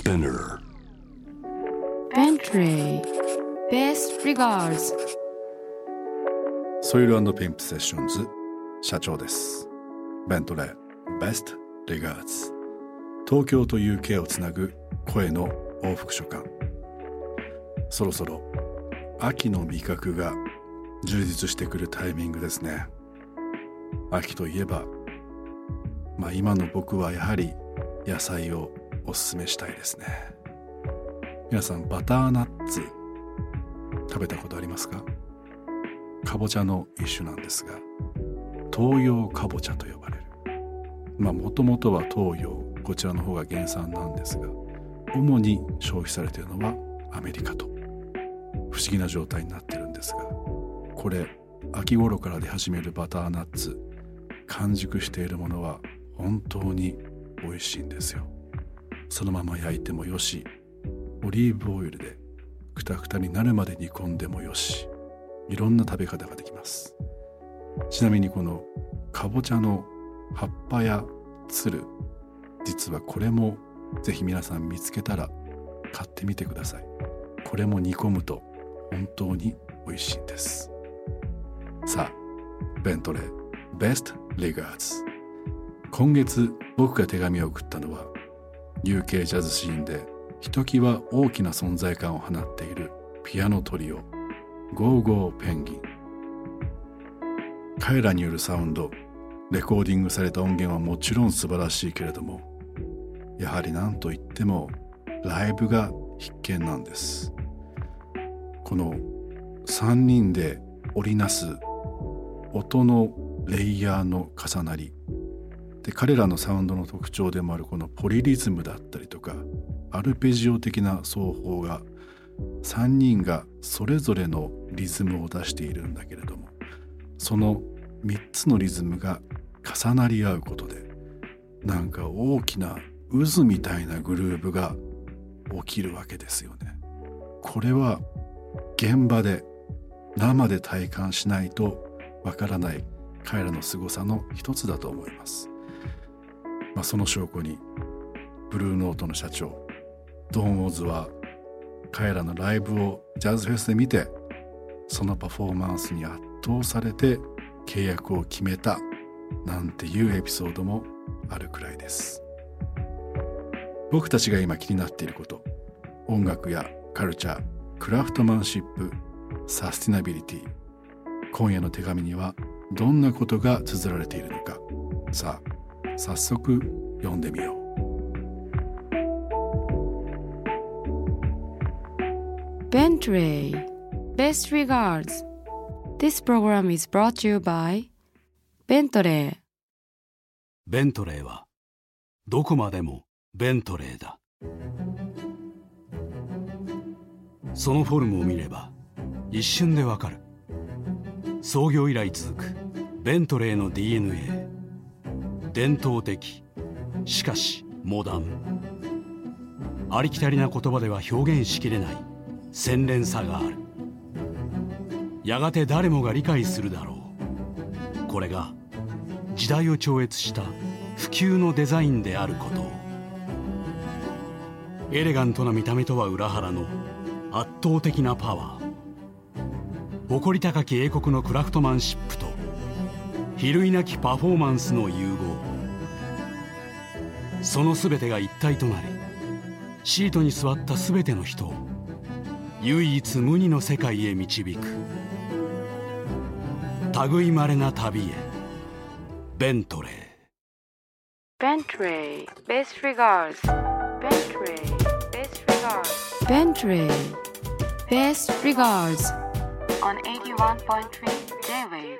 Spinner Bentley Best Regards ソイル&ピンプセッションズ社長です。ベントレー Best Regards 東京と UK をつなぐ声の往復書簡。そろそろ秋の味覚が充実してくるタイミングですね。秋といえば今の僕はやはり野菜をおすすめしたいですね。皆さんバターナッツ食べたことありますか？かぼちゃの一種なんですが、東洋かぼちゃと呼ばれる。もともとは東洋、こちらの方が原産なんですが、主に消費されているのはアメリカと、不思議な状態になっているんですが、これ秋頃から出始めるバターナッツ、完熟しているものは本当に美味しいんですよ。そのまま焼いてもよし、オリーブオイルでクタクタになるまで煮込んでもよし、いろんな食べ方ができます。ちなみにこのかぼちゃの葉っぱやつる、実はこれもぜひ皆さん見つけたら買ってみてください。これも煮込むと本当に美味しいんです。さあ、ベントレー Best Regards。 今月僕が手紙を送ったのは UK ジャズシーンでひときわ大きな存在感を放っているピアノトリオゴーゴーペンギン。彼らによるサウンド、レコーディングされた音源はもちろん素晴らしいけれども、やはり何といってもライブが必見なんです。この3人で織りなす音のレイヤーの重なりで、彼らのサウンドの特徴でもあるこのポリリズムだったりとかアルペジオ的な奏法が、3人がそれぞれのリズムを出しているんだけれども、その3つのリズムが重なり合うことで、なんか大きな渦みたいなグルーヴが起きるわけですよね。これは現場で生で体感しないとわからない彼らの凄さの一つだと思います。その証拠にブルーノートの社長ドン・オズは彼らのライブをジャズフェスで見て、そのパフォーマンスに圧倒されて契約を決めたなんていうエピソードもあるくらいです。僕たちが今気になっていること、音楽やカルチャー、クラフトマンシップ、サスティナビリティ、今夜の手紙にはどんなことが綴られているのか、さあ早速読んでみよう。 Bentley Best Regards. This program is brought to you by Bentley. ベントレーはどこまでもベントレーだ。そのフォルムを見れば一瞬でわかる。創業以来続くベントレーの DNA。 伝統的、しかしモダン。ありきたりな言葉では表現しきれない洗練さがある。やがて誰もが理解するだろう。これが時代を超越した普及のデザインであることを。エレガントな見た目とは裏腹の圧倒的なパワー、誇り高き英国のクラフトマンシップと比類なきパフォーマンスの融合、その全てが一体となり、シートに座った全ての人を唯一無二の世界へ導く。類まれな旅へ、ベントレー。 Bentley Best Regards. Bentley Best Regards. Bentley Best Regards on 81.3 J-Wave.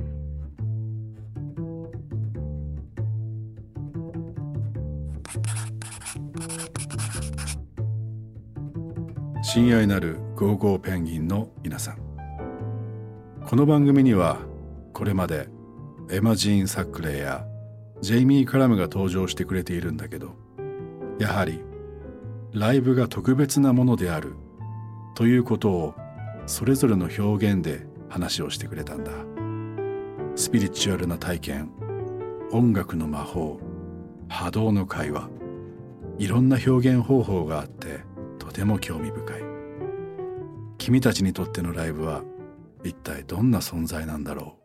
親愛なるゴーゴーペンギンの皆さん、この番組にはこれまでエマ・ジーン・サックレーやジェイミー・カラムが登場してくれているんだけど、やはりライブが特別なものであるということをそれぞれの表現で話をしてくれたんだ。スピリチュアルな体験、音楽の魔法、波動の会話、 いろんな表現方法があってとても興味深い。君たちにとってのライブは一体どんな存在なんだろう。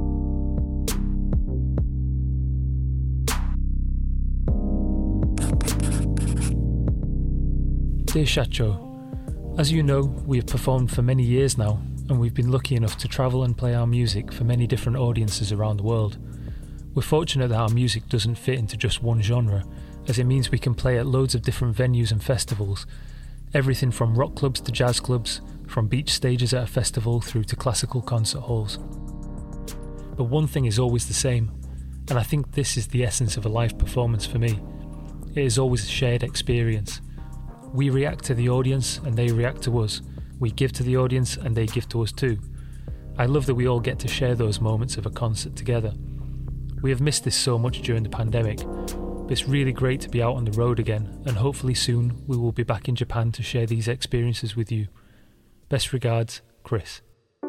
Dear Shacho, as you know, we have performed for many years now, and we've been lucky enough to travel and play our music for many different audiences around the world. We're fortunate that our music doesn't fit into just one genre, as it means we can play at loads of different venues and festivals, everything from rock clubs to jazz clubs, from beach stages at a festival through to classical concert halls. But one thing is always the same, and I think this is the essence of a live performance for me. It is always a shared experience. We react to the audience and they react to us. We give to the audience and they give to us too. I love that we all get to share those moments of a concert together. We have missed this so much during the pandemic, but it's really great to be out on the road again, and hopefully soon we will be back in Japan to share these experiences with you. Best regards, Chris.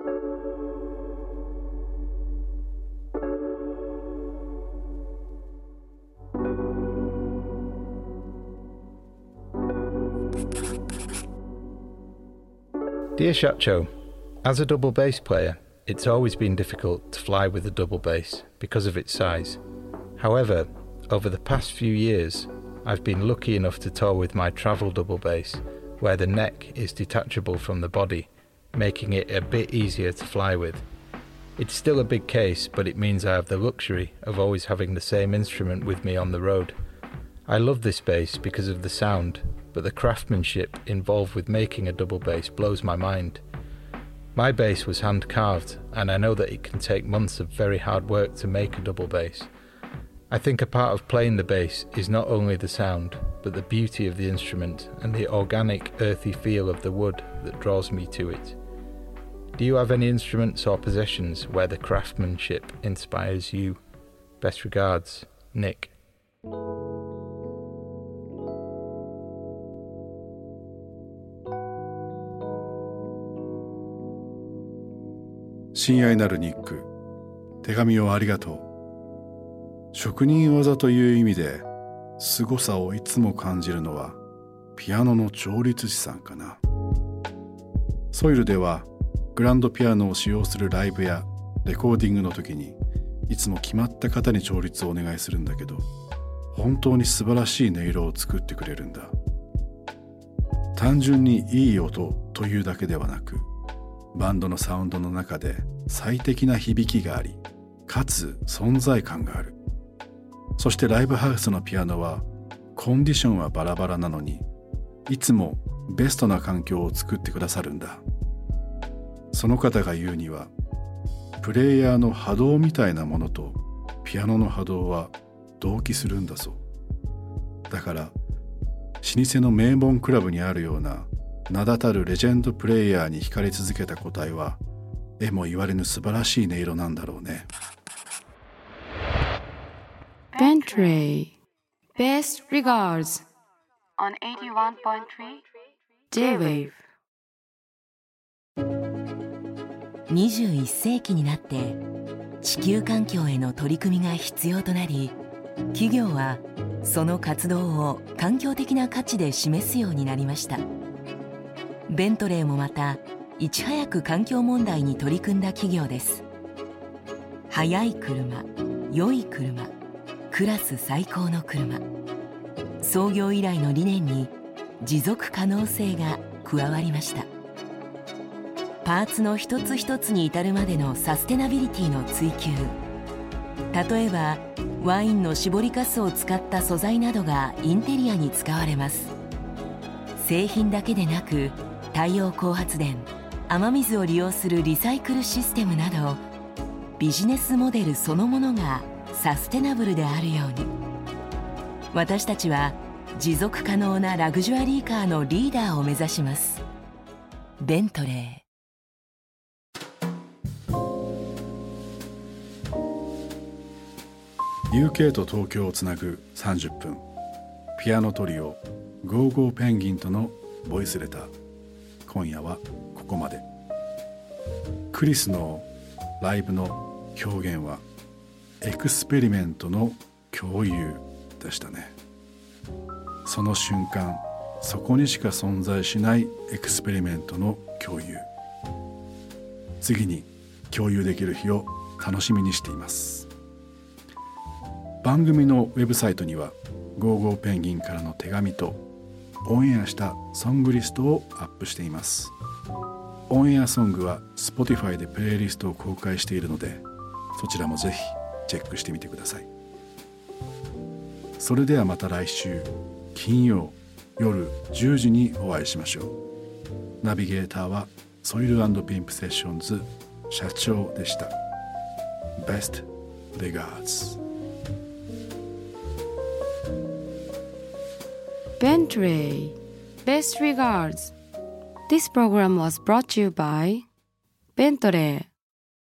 Dear Shacho, as a double bass player, it's always been difficult to fly with a double bass because of its size. However, over the past few years, I've been lucky enough to tour with my travel double bass, where the neck is detachable from the body, making it a bit easier to fly with. It's still a big case, but it means I have the luxury of always having the same instrument with me on the road. I love this bass because of the sound, but the craftsmanship involved with making a double bass blows my mind. My bass was hand carved, and I know that it can take months of very hard work to make a double bass. I think a part of playing the bass is not only the sound, but the beauty of the instrument and the organic, earthy feel of the wood that draws me to it. Do you have any instruments or possessions where the craftsmanship inspires you? Best regards, Nick. 親愛なるニック、手紙をありがとう。職人技という意味で凄さをいつも感じるのはピアノの調律師さんかな。ソイルではグランドピアノを使用するライブやレコーディングの時にいつも決まった方に調律をお願いするんだけど、本当に素晴らしい音色を作ってくれるんだ。単純にいい音というだけではなく、バンドのサウンドの中で最適な響きがあり、かつ存在感がある。そしてライブハウスのピアノはコンディションはバラバラなのに、いつもベストな環境を作ってくださるんだ。その方が言うには、プレイヤーの波動みたいなものとピアノの波動は同期するんだそう。だから老舗の名門クラブにあるような名だたるレジェンドプレイヤーに惹かれ続けた個体は、えも言われぬ素晴らしい音色なんだろうね。 Bentley Best regards on 81.3 J-Wave。 21世紀になって地球環境への取り組みが必要となり、企業はその活動を環境的な価値で示すようになりました。ベントレーもまたいち早く環境問題に取り組んだ企業です。速い車、良い車、クラス最高の車。創業以来の理念に持続可能性が加わりました。パーツの一つ一つに至るまでのサステナビリティの追求。例えばワインの搾りかすを使った素材などがインテリアに使われます。製品だけでなく太陽光発電、雨水を利用するリサイクルシステムなど、ビジネスモデルそのものがサステナブルであるように、私たちは持続可能なラグジュアリーカーのリーダーを目指します。ベントレー。UK と東京をつなぐ30分、ピアノトリオゴーゴーペンギンとのボイスレター。今夜はここまで。クリスのライブの表現はエクスペリメントの共有でしたね。 その瞬間そこにしか存在しないエクスペリメントの共有、次に共有できる日を楽しみにしています。番組のウェブサイトにはゴーゴーペンギンからの手紙とオンエアしたソングリストをアップしています。オンエアソングは Spotify でプレイリストを公開しているので、そちらもぜひチェックしてみてください。それではまた来週金曜夜10時にお会いしましょう。ナビゲーターはソイル&ピンプセッションズ社長でした。Best regards. Bentley. Best regards. This program was brought to you by Bentley.